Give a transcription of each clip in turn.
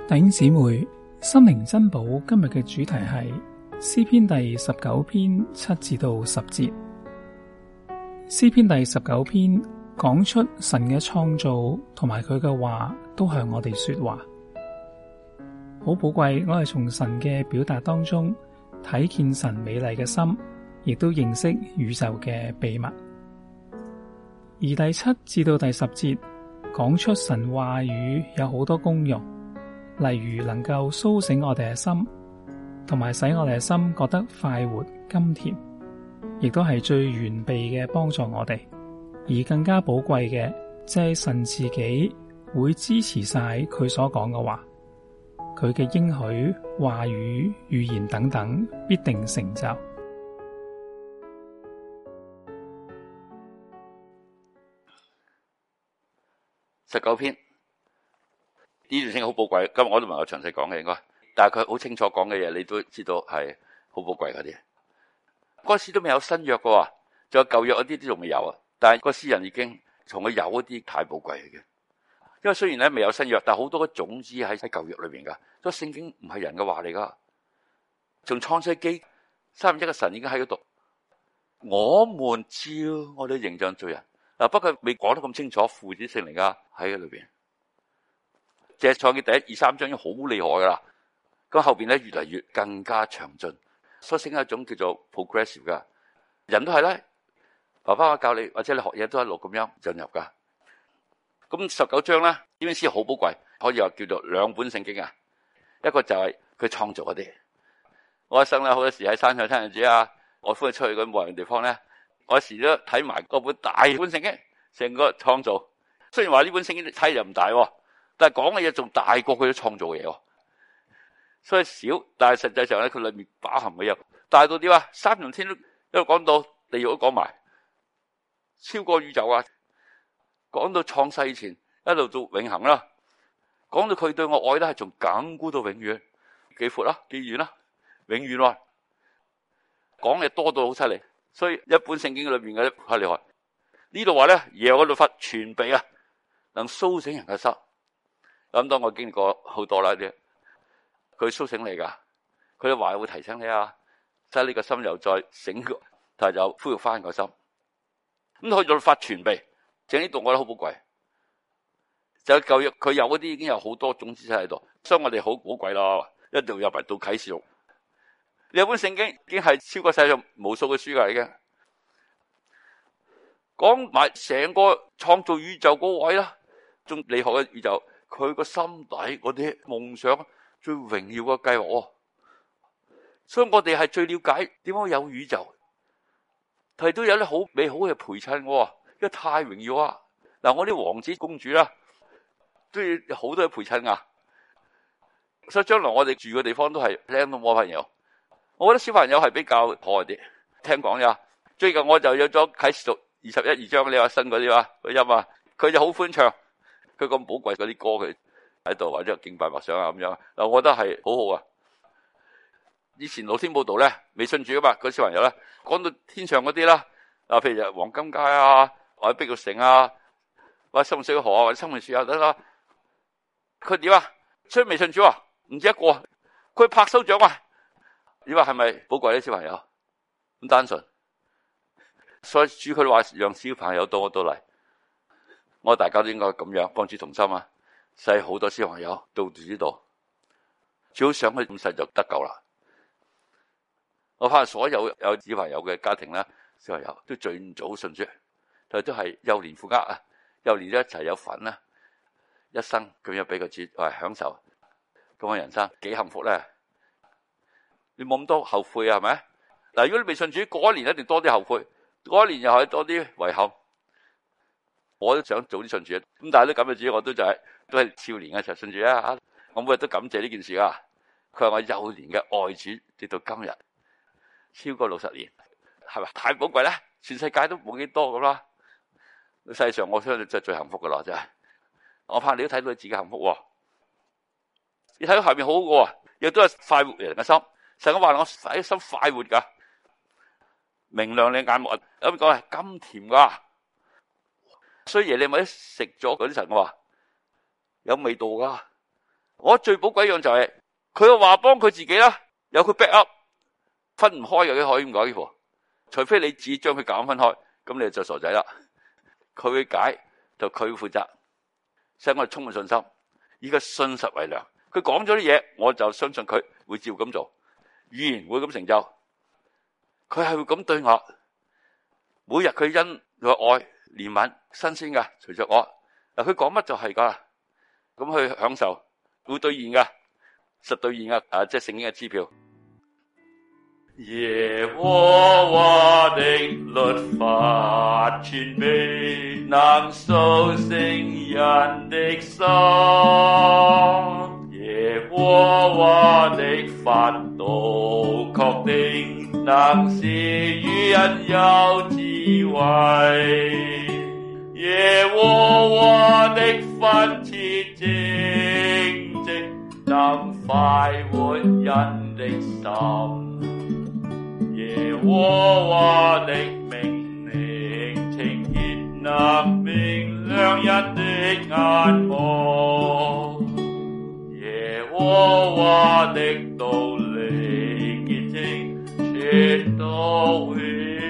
弟兄姊妹，心靈珍寶今日嘅主題係詩篇第19篇7至到10節。詩篇第19篇講出神嘅創造同埋佢嘅話都向我哋說話，好寶貴。我係從神嘅表達當中睇見神美麗嘅心，亦都認識宇宙嘅秘密。而第7至到第10節講出神話語有好多功用，例如能夠蘇醒我哋嘅心，同埋使我哋嘅心覺得快活甘甜，亦都係最完備嘅幫助我哋。而更加寶貴嘅，即係神自己會支持晒佢所講嘅話，佢嘅應許、話語、預言等等必定成就。 19篇呢段聖經好寶貴，今日我都唔係詳細講嘅應該，但係佢好清楚講嘅嘢，你都知道係好寶貴嗰啲。嗰時都未有新約嘅，仲有舊約嗰啲都仲未有啊。但係個詩人已經從佢有嗰啲太寶貴嘅，因為雖然咧未有新約，但係好多嘅種子喺舊約裏邊噶。所以聖經唔係人嘅話嚟噶，從創世紀三位一嘅神已經喺嗰度。我們照我哋形象做人嗱，不過未講得咁清楚，父子聖靈啊喺裏邊。即係創記第1、2、3章已經好厲害噶啦，咁後邊咧越嚟越更加詳盡，所以聖經係一種叫做 progressive 噶，人都係咧。爸爸教你或者你學嘢都一路咁樣進入噶。咁19章咧，呢篇詩好寶貴，可以話叫做兩本聖經啊。一個就係佢創造嗰啲，我一生咧好多時喺山上聽日子啊，我歡喜出去嗰啲冇人地方咧，我有時都睇埋嗰本大本聖經，成個創造。雖然話呢本聖經睇又唔大，但係講嘅嘢仲大過佢創造嘅嘢，所以少，但係實際上咧佢裏面包含嘅嘢大到點啊？三重天都一路講到地獄都講埋。超過宇宙啊！講到創世前一路到永恆啦，講到佢對我愛咧係從亙古到永遠，幾闊啦，幾遠啦，永遠喎。講嘢多到好犀利，所以一本聖經裏邊嘅好厲害。呢度話咧，耶和華律法全備啊，能蘇醒人嘅心。咁當我經歷過好多啦啲，佢蘇醒你噶，佢嘅話會提醒你啊，使你個心又再醒過，但係就恢復翻個心。咁佢律法全備，正呢度我覺得好寶貴。就舊約佢有嗰啲已經有好多種知識喺度，所以我哋好寶貴咯。一定要入埋到啟示錄，呢本聖經已經係超過世上無數嘅書噶，已經講埋成個創造宇宙嗰位啦，仲厲害嘅宇宙，佢個心底嗰啲夢想最榮耀嘅計劃。所以我哋係最了解點解有宇宙。佢都有啲好美好嘅陪襯我，因為太榮耀啊！嗱，我啲王子公主啦，都要好多嘅陪襯啊。所以將來我哋住嘅地方都係靚到冇朋友。我覺得小朋友係比較可愛啲。聽講呀，最近我就有咗啟示錄21、2章，你話新嗰啲啊個音啊，佢就好歡唱，佢咁寶貴嗰啲歌佢喺度或者敬拜默想啊咁樣。嗱，我覺得係好好啊。以前露天報道咧，未信主噶嘛，嗰小朋友咧講到天上嗰啲啦，譬如黃金街啊，或者碧玉城啊，或者深水河啊，或者生命樹啊等等，佢點啊？所以未信主啊，唔止一個，佢拍手掌啊！你話係咪寶貴啲小朋友咁單純？所以主佢話讓小朋友到我到嚟，我大家都應該咁樣幫主同心啊，使好多小朋友到主度，最好想佢咁細就得救啦。我怕所有有小朋友嘅家庭啦，小朋友都盡早信主，但係都係幼年負軛啊，幼年一齊有份啦，一生咁樣俾個主享受，咁嘅人生幾幸福咧！你冇咁多後悔啊，係咪？嗱，如果你未信主，嗰一年一定多啲後悔，嗰一年又係多啲遺憾。我都想早啲信主，咁但係都咁嘅主，我都係少年嘅時候信主啊！我每日都感謝呢件事啊！佢係我幼年嘅愛主，直到今日。超過60年，係咪太寶貴咧？全世界都冇幾多咁啦。世上我相信真係最幸福噶啦，真係。我怕你都睇到你自己幸福。你睇到下面好好嘅，亦都係快活人嘅心。成日話我使心快活噶，明亮你眼目，咁講係甘甜噶。所以耶利米食咗嗰啲神話有味道噶， 我最寶貴一樣就係佢嘅話幫佢自己啦，有佢 back up， 分唔開嘅，可以咁講呢個。除非你只將佢夾硬分開，咁你就傻仔啦。佢會解就佢負責，使我哋充滿信心。依個信實為糧，佢講咗啲嘢，我就相信佢會照咁做，預言會咁成就。佢係會咁對我，每日佢因佢愛憐憫新鮮噶，隨着我嗱，佢講乜就係噶，咁去享受會兌現噶，實兌現噶，即係聖經嘅支票。耶和華的律法全備，能甦醒人的心。耶和華的法度確定，能使愚人有智慧。耶和華的訓詞正直，能快活人的心。耶和華的命令清潔，能明亮人的眼目。耶和華的道理潔淨，直到永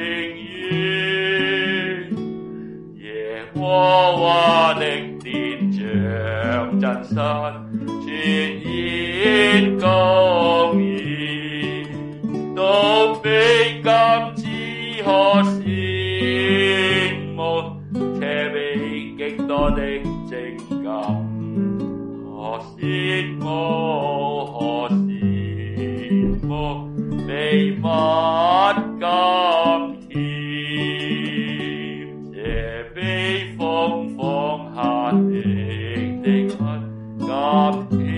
遠。耶和華的典章真實，全然公義，都比金子可羨慕，且比極多的精金可羨慕，可羨慕，比蜜甘甜，且比蜂房下滴的蜜甘甜。